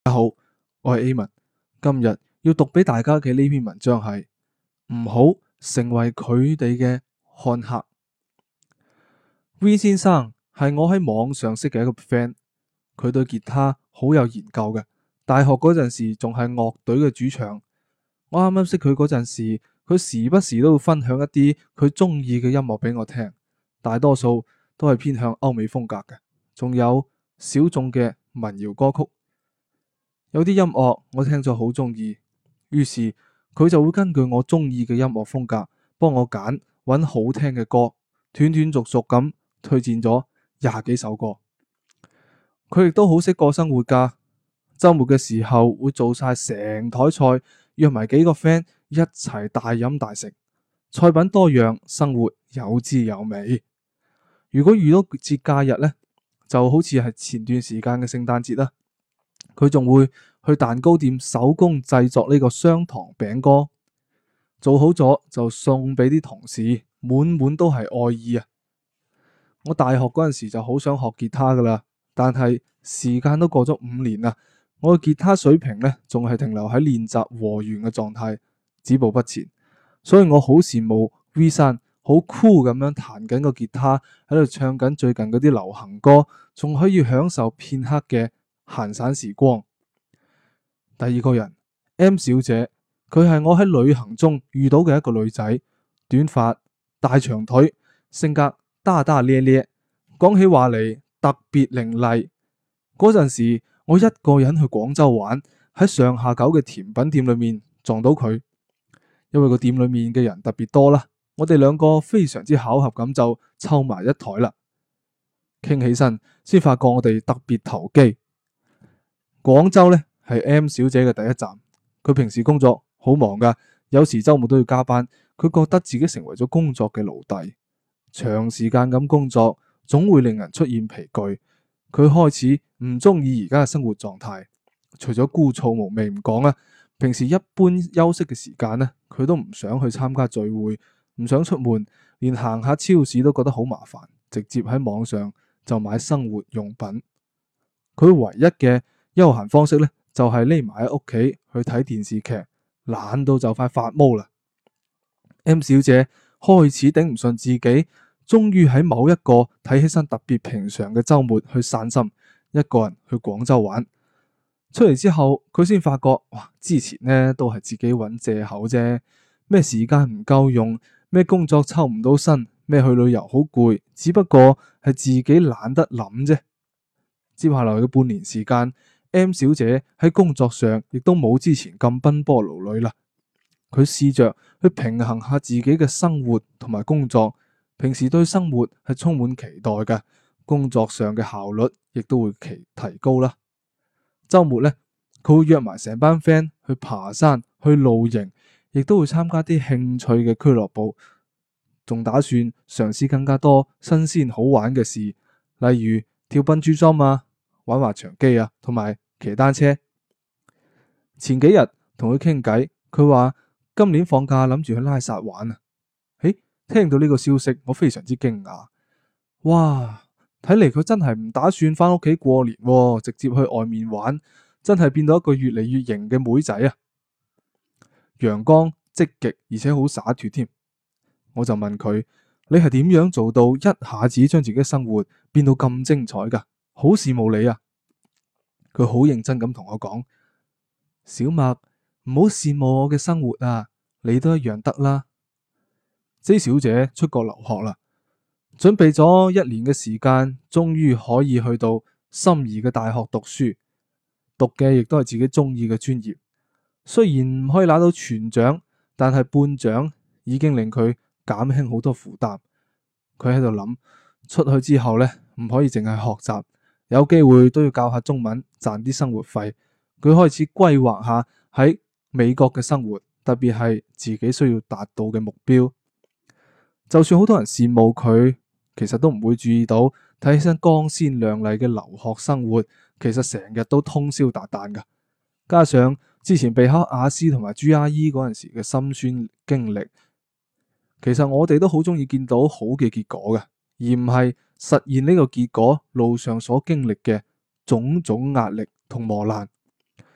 我係 A 文，今日要讀俾大家嘅呢篇文章係唔好成為佢哋嘅看客。V 先生係我喺網上識嘅一個 friend，佢對吉他好有研究嘅。大學嗰陣時仲係樂隊嘅主唱。我啱啱識佢嗰陣時，佢時不時都會分享一啲佢中意嘅音樂俾我聽，大多數都係偏向歐美風格嘅，仲有小眾嘅民謠歌曲。有啲音樂我聽咗好中意，於是佢就會根據我中意嘅音樂風格幫我揾好聽嘅歌，斷斷續續咁推薦咗20幾首歌。佢亦都好識過生活㗎，周末嘅時候會做晒成台菜，約埋幾個 friend 一齊大飲大食，菜品多樣，生活有滋有味。如果遇到節假日呢，就好似係前段時間嘅聖誕節啦，佢仲會去蛋糕店手工製作呢個雙糖餅乾，做好咗就送俾啲同事，滿滿都係愛意啊！我大學嗰陣時就好想學吉他噶啦，但係時間都過咗5年啦，我嘅吉他水平呢仲係停留喺練習和弦嘅狀態，止步不前。所以我好羨慕 V 生好酷咁樣彈緊個吉他，喺度唱緊最近嗰啲流行歌，仲可以享受片刻嘅閒散時光。第二個人 M 小姐，佢係我喺旅行中遇到嘅一個女仔，短髮大長腿，性格大大咧咧，講起話嚟特別伶俐。嗰陣時我一個人去廣州玩，喺上下九嘅甜品店裏面撞到佢，因為個店裏面嘅人特別多啦，我哋兩個非常之巧合咁就湊埋一台啦。傾起身先發覺我哋特別投機。廣州呢係 M 小姐嘅第一站，佢平時工作好忙噶，有時周末都要加班。佢覺得自己成為咗工作嘅奴隸，長時間咁工作總會令人出現疲倦。佢開始唔中意而家嘅生活狀態，除咗枯燥無味唔講啦，平時一般休息嘅時間呢，佢都唔想去參加聚會，唔想出門，連行下超市都覺得好麻煩，直接喺網上就買生活用品。佢唯一嘅休閒方式呢，就係匿埋喺屋企去睇電視劇，懶到就快發毛啦。M 小姐開始頂唔順自己，終於喺某一個睇起身特別平常嘅周末去散心，一個人去廣州玩。出嚟之後，佢先發覺，哇！之前呢都係自己揾借口啫，咩時間唔夠用，咩工作抽唔到身，咩去旅遊好攰，只不過係自己懶得諗啫。接下來嘅半年時間，M 小姐喺工作上亦都冇之前咁奔波勞累啦。佢試着去平衡下自己嘅生活同埋工作，平時對生活係充滿期待嘅，工作上嘅效率亦都會提高啦。周末呢，佢會約埋成班 friend 去爬山、去露營，亦都會參加啲興趣嘅俱樂部，仲打算嘗試更加多新鮮好玩嘅事，例如跳笨豬跳啊、玩滑翔機啊，同埋騎單車。前幾日同佢傾偈，佢話今年放假諗住去拉薩玩啊！聽到呢個消息，我非常之驚訝。哇，睇嚟佢真係唔打算翻屋企過年喎，直接去外面玩，真係變到一個越嚟越型嘅妹仔啊！陽光、積極而且好灑脫添。我就問佢：你係點樣做到一下子將自己生活變到咁精彩噶？好羨慕你啊！佢好認真咁同我講：小麥，唔好羨慕我嘅生活啊，你都一樣得啦。J 小姐出國留學啦，準備咗1年嘅時間，終於可以去到心儀嘅大學讀書，讀嘅亦都係自己中意嘅專業。雖然唔可以拿到全獎，但係半獎已經令佢減輕好多負擔。佢喺度諗，出去之後呢，唔可以淨係學習，有機會都要教下中文，賺啲生活費。佢開始規劃下喺美國嘅生活，特別係自己需要達到嘅目標。就算好多人羨慕佢，其實都唔會注意到睇起身光鮮亮麗嘅留學生活，其實成日都通宵達旦噶。加上之前備考雅思同埋 GRE 嗰陣時嘅辛酸經歷，其實我哋都好中意見到好嘅結果嘅，而唔係實現呢個結果路上所經歷嘅種種壓力同磨難。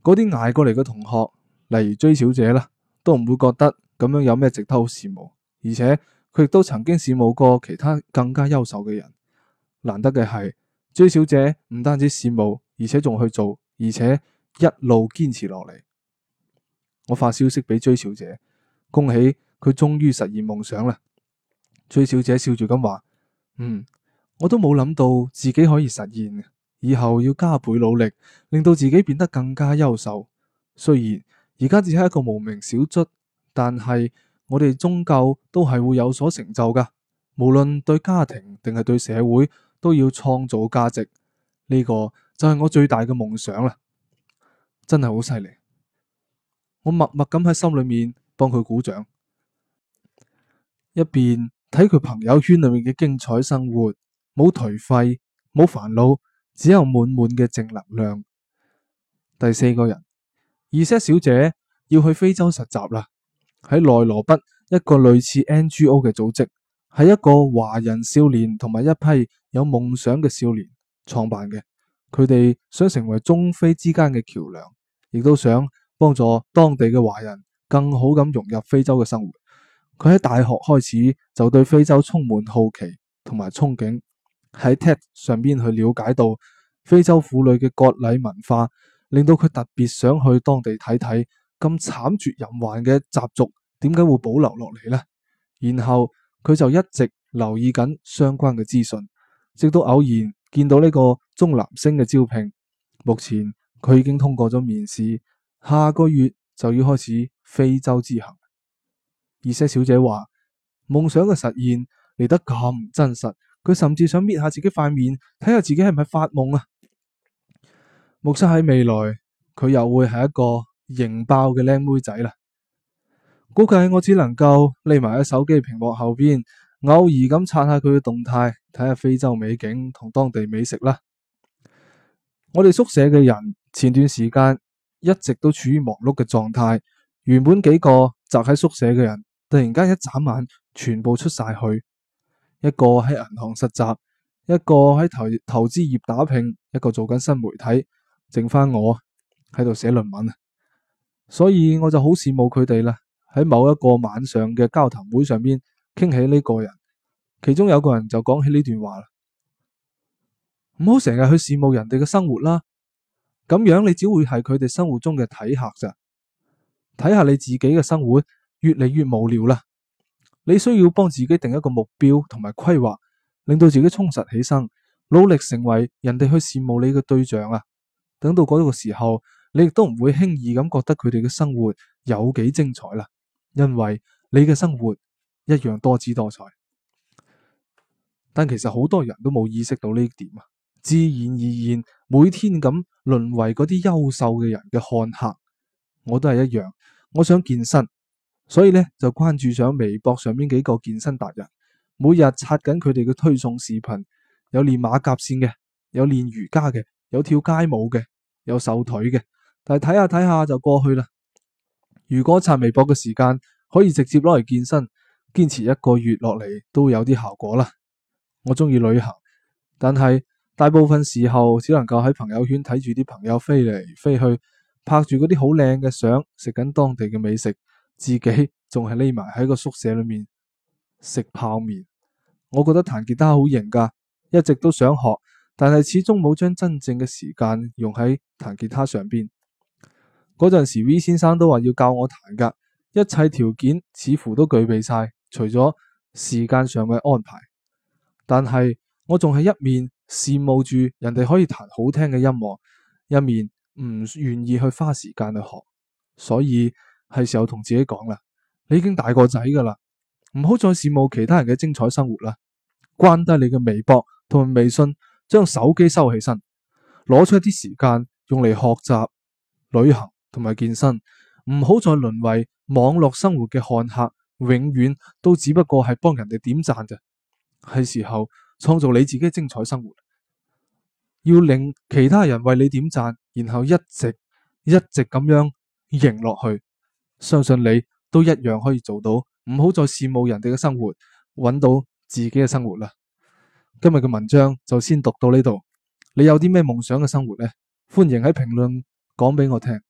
嗰啲捱過嚟嘅同學，例如追小姐啦，都唔會覺得咁樣有咩值得好羨慕，而且佢亦都曾經羨慕過其他更加優秀嘅人。難得嘅係，追小姐唔單止羨慕，而且仲去做，而且一路堅持落嚟。我發消息俾追小姐，恭喜佢終於實現夢想啦。追小姐笑住咁話：我都冇諗到自己可以實現，以後要加倍努力，令到自己變得更加優秀。雖然而家只係一個無名小卒，但係我哋終究都係會有所成就噶。無論對家庭定係對社會，都要創造價值。呢個就係我最大嘅夢想啦。真係好犀利。我默默咁喺心裏面幫佢鼓掌，一邊睇佢朋友圈裏面嘅精彩生活，冇頹廢，冇煩惱，只有滿滿嘅正能量。第四個人，Z小姐要去非洲實習啦，喺內羅畢一個類似 NGO 嘅組織，係一個華人少年同埋一批有夢想嘅少年創辦嘅。佢哋想成為中非之間嘅橋樑，亦都想幫助當地嘅華人更好咁融入非洲嘅生活。佢喺大學開始就對非洲充滿好奇同埋憧憬，喺 TED 上邊去了解到非洲婦女嘅割禮文化，令到佢特別想去當地睇睇咁慘絕人寰嘅習俗點解會保留落嚟呢？然後佢就一直留意緊相關嘅資訊，直到偶然見到呢個鍾南星嘅招聘。目前佢已經通過咗面試，下個月就要開始非洲之行。Z小姐話夢想嘅實現嚟得咁唔真實，佢甚至想搣下自己塊面，睇下自己係咪發夢啊！目測喺未來佢又會係一個型爆嘅靚妹仔啦。估計我只能夠匿埋喺手機屏幕後邊，偶爾咁刷下佢嘅動態，睇下非洲美景同當地美食啦。我哋宿舍嘅人前段時間一直都處於忙碌嘅狀態，原本幾個宅喺宿舍嘅人，突然間一眨眼全部出晒去，一個喺銀行實習，一個喺投資業打拼，一個做緊新媒體，剩翻我喺度寫論文啊！所以我就好羨慕佢哋啦。喺某一個晚上嘅交談會上邊傾起呢個人，其中有個人就講起呢段話啦：唔好成日去羨慕人哋嘅生活啦，咁樣你只會係佢哋生活中嘅睇客咋。睇下你自己嘅生活越嚟越無聊啦，你需要幫自己定一個目標同埋規劃，令到自己充實起身，努力成為人哋去羨慕你嘅對象啊！等到嗰個時候，你亦都唔會輕易咁覺得佢哋嘅生活有幾精彩啦，因為你嘅生活一樣多姿多彩。但其實好多人都冇意識到呢點啊，自然而然每天咁淪為嗰啲優秀嘅人嘅看客。我都係一樣，我想健身，所以咧就關注上微博上面幾個健身達人，每日刷緊佢哋嘅推送視頻，有練馬甲線嘅，有練瑜伽嘅，有跳街舞嘅，有瘦腿嘅，但係睇下睇下就過去啦。如果刷微博嘅時間可以直接攞嚟健身，堅持一個月落嚟都有啲效果啦。我中意旅行，但係大部分時候只能夠喺朋友圈睇住啲朋友飛嚟飛去，拍住嗰啲好靚嘅相，食緊當地嘅美食，自己仲係匿埋喺個宿舍裏面食泡麵。我覺得彈吉他好型噶，一直都想學，但係始終冇將真正嘅時間用喺彈吉他上邊。嗰陣時 V 先生都話要教我彈噶，一切條件似乎都具備晒，除咗時間上嘅安排。但係我仲係一面羨慕住人哋可以彈好聽嘅音樂，一面唔願意去花時間去學。所以係時候同自己講啦，你已經大個仔噶啦，唔好再羨慕其他人嘅精彩生活啦。關低你嘅微博同埋微信，將手機收起身，攞出一啲時間用嚟學習、旅行同埋健身。唔好再淪為網絡生活嘅看客，永遠都只不過係幫人哋點讚咋。係時候創造你自己精彩生活，要令其他人為你點讚，然後一直咁樣贏落去。相信你都一樣可以做到，唔好再羨慕人哋嘅生活，揾到自己嘅生活啦。今日嘅文章就先讀到呢度，你有啲咩夢想嘅生活呢？歡迎喺評論講俾我聽。